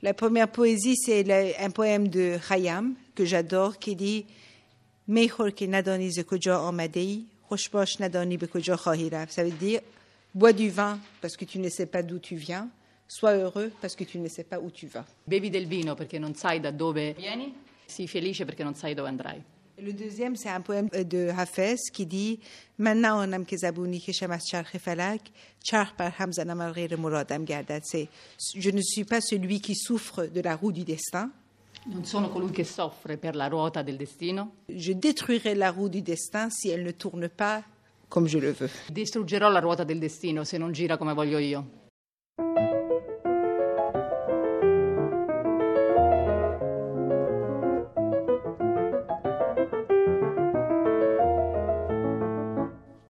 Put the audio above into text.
La première poésie, c'est un poème de Khayyam, que j'adore, qui dit « Mejor que nadani ze kuja amadei, خوش باش ندانی به کجا خواهی رفت ». Ça veut dire « Bois du vin parce que tu ne sais pas d'où tu viens, sois heureux parce que tu ne sais pas où tu vas ». Bevi del vino perché non sai da dove vieni, sii felice perché non sai dove andrai. Le deuxième, c'est un poème de Hafez qui dit من نه آنم که زبونی کشم از چرخ فلک چرخ بر هم زنم ار غیر مرادم گردد. C'est je ne suis pas celui qui souffre de la roue du destin. Non sono colui che soffre per la ruota del destino. Je détruirai la roue du destin si elle ne tourne pas comme je le veux. Distruggerò la ruota del destino se non gira come voglio io.